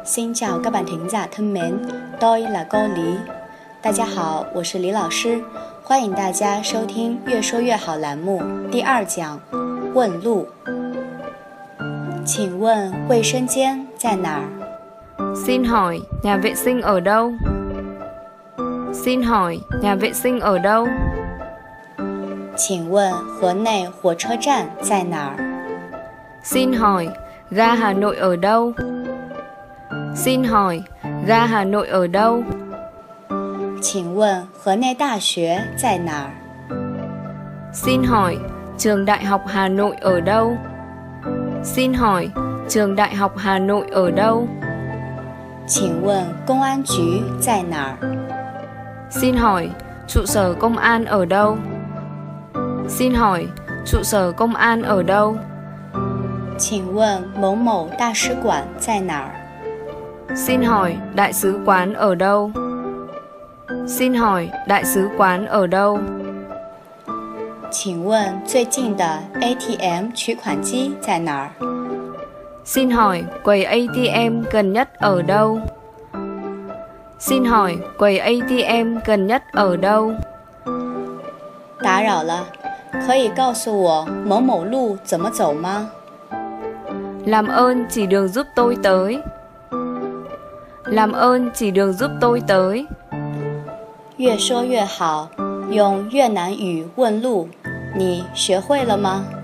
Xin chào các bạn thính giả thân mến, tôi là cô Lý。大家好，我是李老师，欢迎大家收听《越说越好》栏目第2讲问路。请问卫生间在哪儿？ Xin hỏi nhà vệ sinh ở đâu? Xin hỏi nhà vệ sinh ở đâu? 请问河内火车站在哪儿？ Xin hỏi ga Hà Nội ở đâu? Xin hỏi ga Hà Nội ở đâu? 请问河内大学在哪儿？ Xin hỏi trường Đại học Hà Nội ở đâu? Xin hỏi trường Đại học Hà Nội ở đâu? 请问公安局在哪儿？ Xin hỏi trụ sở công an ở đâu? Xin hỏi trụ sở công an ở đâu? 请问某某大使馆在哪儿？ Xin hỏi đại sứ quán ở đâu? Xin hỏi đại sứ quán ở đâu? 请问最近的 ATM 取款机在哪儿？ Xin hỏi quầy ATM gần nhất ở đâu? Xin hỏi quầy ATM gần nhất ở đâu? 打扰了，可以告诉我某某路怎么走吗？ Làm ơn chỉ đường giúp tôi tới. Làm ơn chỉ đường giúp tôi tới. 越说越好，用越南语问路，你学会了吗？